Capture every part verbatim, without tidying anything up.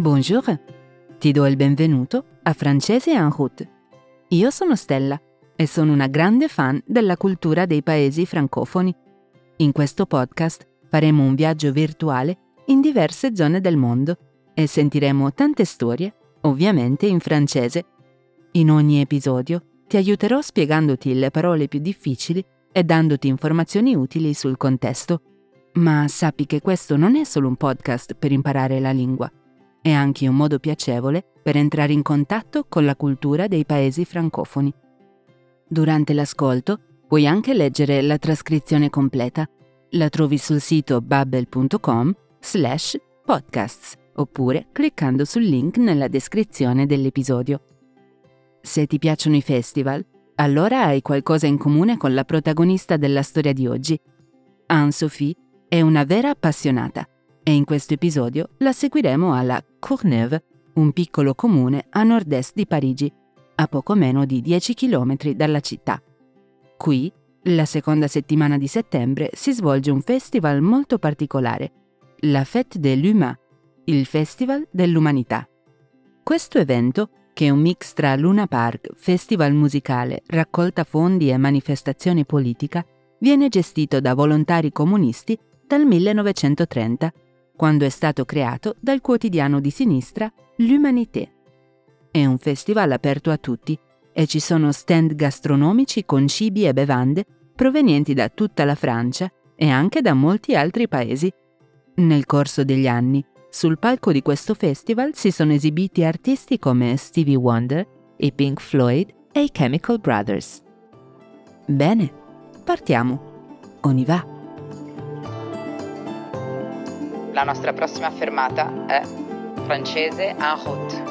Bonjour, ti do il benvenuto a Francese en route. Io sono Stella e sono una grande fan della cultura dei paesi francofoni. In questo podcast faremo un viaggio virtuale in diverse zone del mondo e sentiremo tante storie, ovviamente in francese. In ogni episodio ti aiuterò spiegandoti le parole più difficili e dandoti informazioni utili sul contesto. Ma sappi che questo non è solo un podcast per imparare la lingua, è anche un modo piacevole per entrare in contatto con la cultura dei paesi francofoni. Durante l'ascolto puoi anche leggere la trascrizione completa. La trovi sul sito babbel.com slash podcasts oppure cliccando sul link nella descrizione dell'episodio. Se ti piacciono i festival, allora hai qualcosa in comune con la protagonista della storia di oggi. Anne-Sophie è una vera appassionata e in questo episodio la seguiremo alla Courneuve, un piccolo comune a nord-est di Parigi, a poco meno di dieci chilometri dalla città. Qui, la seconda settimana di settembre, si svolge un festival molto particolare, la Fête de l'Humain, il Festival dell'Umanità. Questo evento, che è un mix tra Luna Park, festival musicale, raccolta fondi e manifestazione politica, viene gestito da volontari comunisti dal millenovecentotrenta, quando è stato creato dal quotidiano di sinistra L'Humanité. È un festival aperto a tutti e ci sono stand gastronomici con cibi e bevande provenienti da tutta la Francia e anche da molti altri paesi. Nel corso degli anni, sul palco di questo festival si sono esibiti artisti come Stevie Wonder, i Pink Floyd e i Chemical Brothers. Bene, partiamo. On y va. La nostra prossima fermata è Francese en route.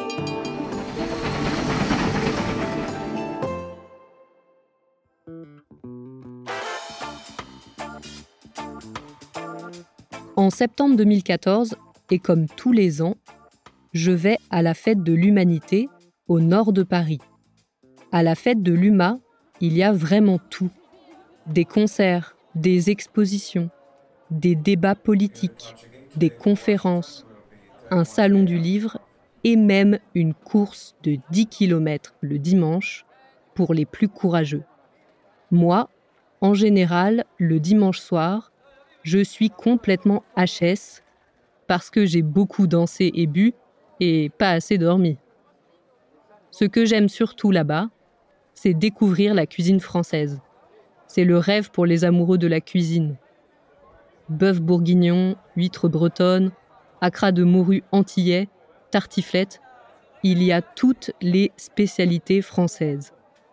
En septembre deux mille quatorze, et comme tous les ans, je vais à la fête de l'Humanité au nord de Paris. À la fête de l'U M A, il y a vraiment tout. Des concerts, des expositions, des débats politiques, des conférences, un salon du livre et même une course de dix kilomètres le dimanche pour les plus courageux. Moi, en général, le dimanche soir, je suis complètement H S parce que j'ai beaucoup dansé et bu et pas assez dormi. Ce que j'aime surtout là-bas, c'est découvrir la cuisine française. C'est le rêve pour les amoureux de la cuisine. Bœuf bourguignon, huîtres bretonnes, acras de morue antillais, tartiflette, il y a toutes les spécialités françaises.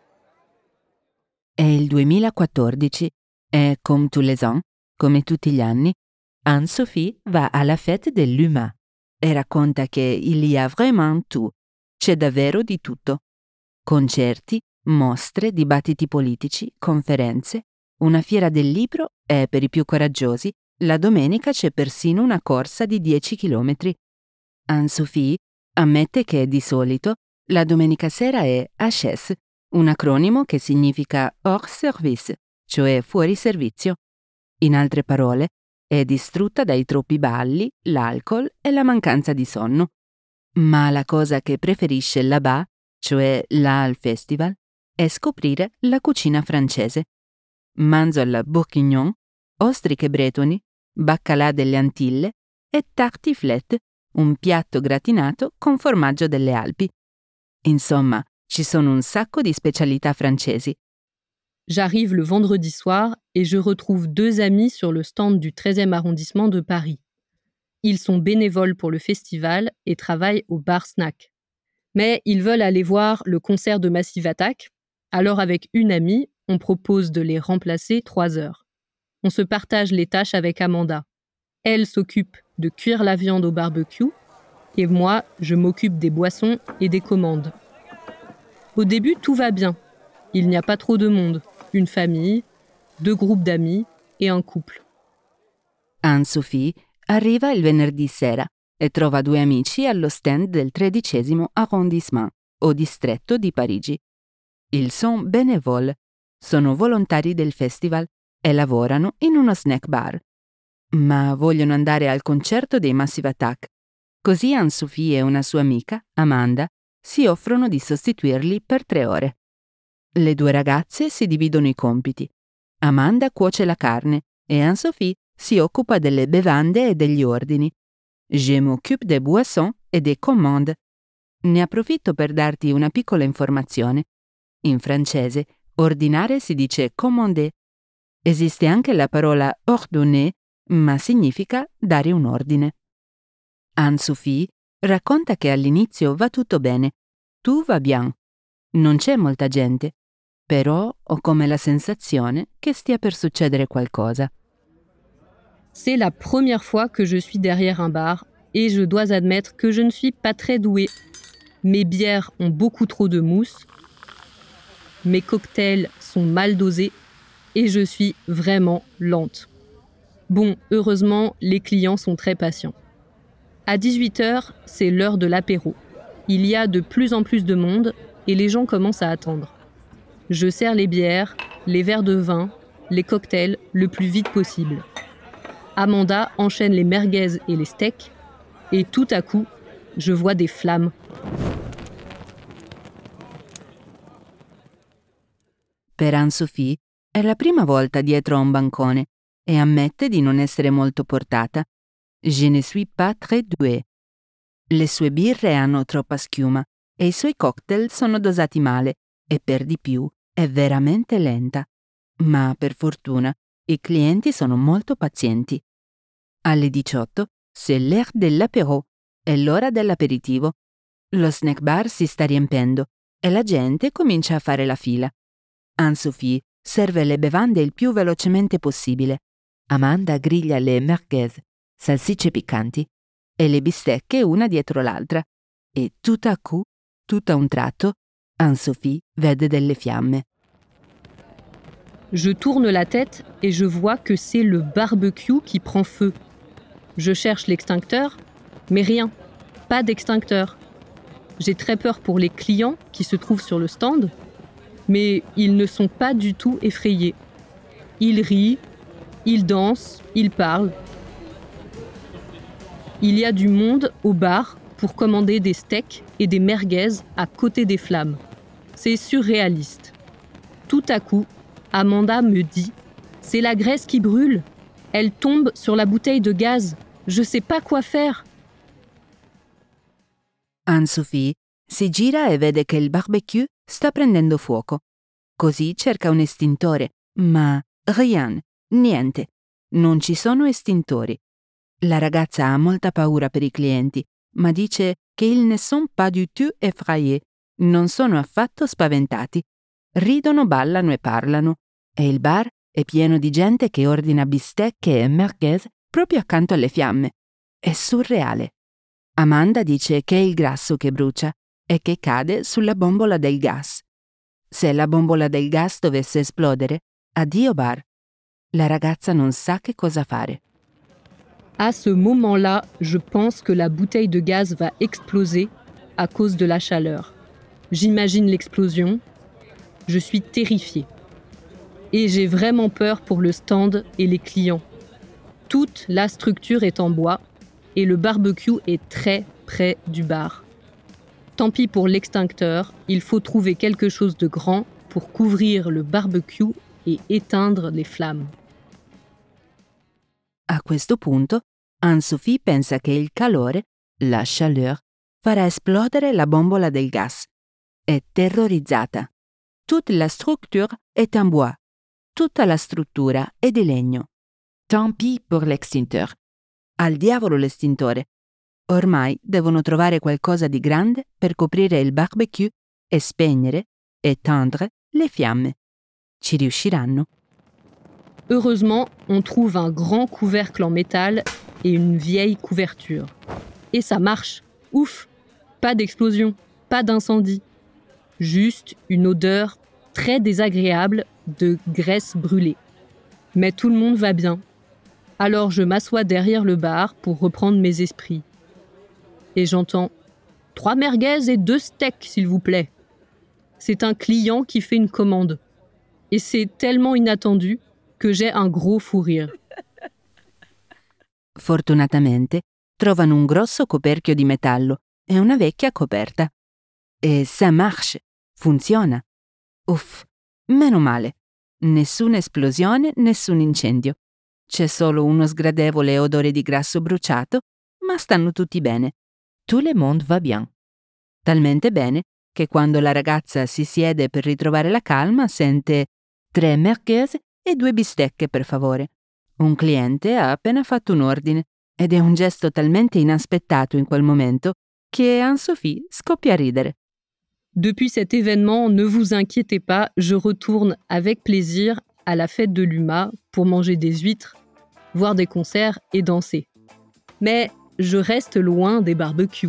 È il duemilaquattordici e, come tous les ans, come tutti gli anni, Anne-Sophie va alla fête de l'U M A e racconta che il y a vraiment tout, c'è davvero di tutto. Concerti, mostre, dibattiti politici, conferenze, una fiera del libro e, per i più coraggiosi, la domenica c'è persino una corsa di dieci chilometri. Anne-Sophie ammette che di solito la domenica sera è H S, un acronimo che significa hors service, cioè fuori servizio. In altre parole, è distrutta dai troppi balli, l'alcol e la mancanza di sonno. Ma la cosa che preferisce là-bas, cioè là al festival, è scoprire la cucina francese. Manzo alla bourguignon, ostriche bretoni, baccalà delle Antille e tartiflette, un piatto gratinato con formaggio delle Alpi. Insomma, ci sono un sacco di specialità francesi. J'arrive le vendredi soir et je retrouve deux amis sur le stand du treizième arrondissement de Paris. Ils sont bénévoles pour le festival et travaillent au bar snack. Mais ils veulent aller voir le concert de Massive Attack, alors avec une amie, on propose de les remplacer trois heures. On se partage les tâches avec Amanda. Elle s'occupe de cuire la viande au barbecue et moi, je m'occupe des boissons et des commandes. Au début, tout va bien. Il n'y a pas trop de monde. Une famille, deux groupes d'amis et un couple. Anne-Sophie arriva il venerdì sera e trova due amici allo stand del tredicesimo arrondissement, o distretto di Parigi. Ils sont bénévoles, sono volontari del festival e lavorano in uno snack bar. Ma vogliono andare al concerto dei Massive Attack. Così Anne-Sophie e una sua amica, Amanda, si offrono di sostituirli per tre ore. Le due ragazze si dividono i compiti. Amanda cuoce la carne e Anne-Sophie si occupa delle bevande e degli ordini. Je m'occupe des boissons et des commandes. Ne approfitto per darti una piccola informazione. In francese, ordinare si dice commander. Esiste anche la parola ordonner, ma significa dare un ordine. Anne-Sophie racconta che all'inizio va tutto bene. Tout va bien. Non c'è molta gente, però ho come la sensazione che stia per succedere qualcosa. C'est la première fois que je suis derrière un bar et je dois admettre que je ne suis pas très douée. Mes bières ont beaucoup trop de mousse, mes cocktails sont mal dosés et je suis vraiment lente. Bon, heureusement, les clients sont très patients. À dix-huit heures, c'est l'heure de l'apéro. Il y a de plus en plus de monde et les gens commencent à attendre. Je sers les bières, les verres de vin, les cocktails le plus vite possible. Amanda enchaîne les merguez et les steaks et tout à coup, je vois des flammes. Per Anne-Sophie è la prima volta dietro a un bancone e ammette di non essere molto portata. Je ne suis pas très douée. Le sue birre hanno troppa schiuma e i suoi cocktail sono dosati male e per di più è veramente lenta. Ma per fortuna i clienti sono molto pazienti. Alle diciotto c'est l'heure dell'apéro, è l'ora dell'aperitivo. Lo snack bar si sta riempendo e la gente comincia a fare la fila. Anne-Sophie serve le bevande il più velocemente possibile. Amanda griglia le merguez, salsicce piccanti, e le bistecche una dietro l'altra. Et tout à coup, tout à un tratto, Anne-Sophie vede delle fiamme. Je tourne la tête et je vois que c'est le barbecue qui prend feu. Je cherche l'extincteur, mais rien, pas d'extincteur. J'ai très peur pour les clients qui se trouvent sur le stand, mais ils ne sont pas du tout effrayés. Ils rient, ils dansent, ils parlent. Il y a du monde au bar pour commander des steaks et des merguez à côté des flammes. C'est surréaliste. Tout à coup, Amanda me dit « C'est la graisse qui brûle. Elle tombe sur la bouteille de gaz. Je sais pas quoi faire. » Anne-Sophie si gira e vede che il barbecue sta prendendo fuoco. Così cerca un estintore, ma rien, niente. Non ci sono estintori. La ragazza ha molta paura per i clienti, ma dice che ils ne sont pas du tout effrayés. Non sono affatto spaventati. Ridono, ballano e parlano. E il bar è pieno di gente che ordina bistecche e merguez proprio accanto alle fiamme. È surreale. Amanda dice che è il grasso che brucia e che cade sulla bombola del gas. Se la bombola del gas dovesse esplodere, addio bar. La ragazza non sa che cosa fare. À ce moment-là, je pense que la bouteille de gaz va exploser à cause de la chaleur. J'imagine l'explosion. Je suis terrifiée. Et j'ai vraiment peur pour le stand et les clients. Toute la structure est en bois et le barbecue est très près du bar. Tant pis pour l'extincteur, il faut trouver quelque chose de grand pour couvrir le barbecue et éteindre les flammes. A questo punto, Anne-Sophie pensa che il calore, la chaleur, farà esplodere la bombola del gas. È terrorizzata. Toute la structure est en bois. Tutta la struttura è di legno. Tant pis pour l'extincteur. Al diavolo l'estintore. Ormai devono trovare qualcosa di grande per coprire il barbecue e spegnere, éteindre, le fiamme. Ci riusciranno? Heureusement, on trouve un grand couvercle en métal et une vieille couverture. Et ça marche. Ouf! Pas d'explosion, pas d'incendie. Juste une odeur très désagréable de graisse brûlée. Mais tout le monde va bien. Alors je m'assois derrière le bar pour reprendre mes esprits. Et j'entends « Trois merguez et deux steaks, s'il vous plaît ». C'est un client qui fait une commande. Et c'est tellement inattendu que j'ai un gros fou rire. Fortunatamente, trovano un grosso coperchio di metallo e una vecchia coperta. E ça marche, funziona. Uff, meno male. Nessuna esplosione, nessun incendio. C'è solo uno sgradevole odore di grasso bruciato, ma stanno tutti bene. Tout le monde va bien. Talmente bene che quando la ragazza si siede per ritrovare la calma sente «Tre merguez e due bistecche, per favore». Un cliente ha appena fatto un ordine ed è un gesto talmente inaspettato in quel momento che Anne-Sophie scoppia a ridere. Depuis cet événement, ne vous inquiétez pas, je retourne avec plaisir à la fête de l'U M A pour manger des huîtres, voir des concerts et danser. Mais je reste loin des barbecues.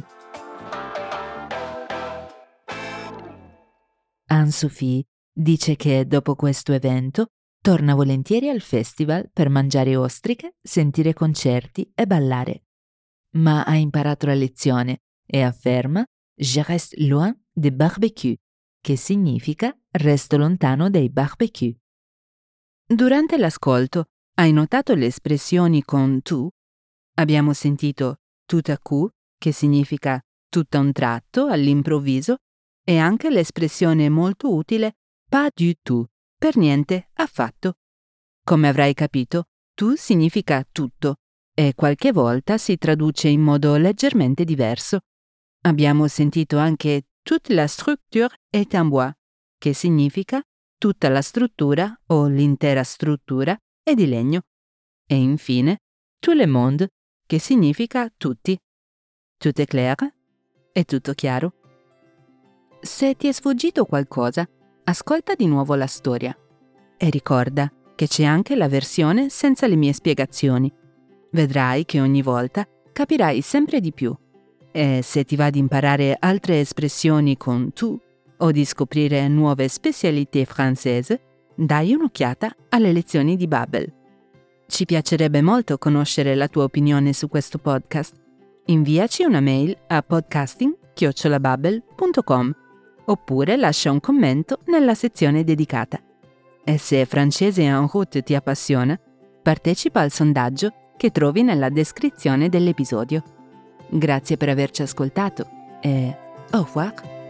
Anne-Sophie dice che dopo questo evento torna volentieri al festival per mangiare ostriche, sentire concerti e ballare. Ma ha imparato la lezione e afferma «Je reste loin des barbecues», che significa «resto lontano dai barbecue». Durante l'ascolto hai notato le espressioni con tu? Abbiamo sentito tout à coup, che significa tutto a un tratto, all'improvviso, e anche l'espressione molto utile pas du tout, per niente, affatto. Come avrai capito, tu significa tutto e qualche volta si traduce in modo leggermente diverso. Abbiamo sentito anche toute la structure est en bois, che significa tutta la struttura o l'intera struttura è di legno. E infine, tout le monde, che significa tutti. Tout est clair? È tutto chiaro? Se ti è sfuggito qualcosa, ascolta di nuovo la storia. E ricorda che c'è anche la versione senza le mie spiegazioni. Vedrai che ogni volta capirai sempre di più. E se ti va di imparare altre espressioni con tu o di scoprire nuove specialità francesi, dai un'occhiata alle lezioni di Babbel. Ci piacerebbe molto conoscere la tua opinione su questo podcast. Inviaci una mail a podcasting chiocciola babbel punto com oppure lascia un commento nella sezione dedicata. E se Francese en route ti appassiona, partecipa al sondaggio che trovi nella descrizione dell'episodio. Grazie per averci ascoltato e au revoir!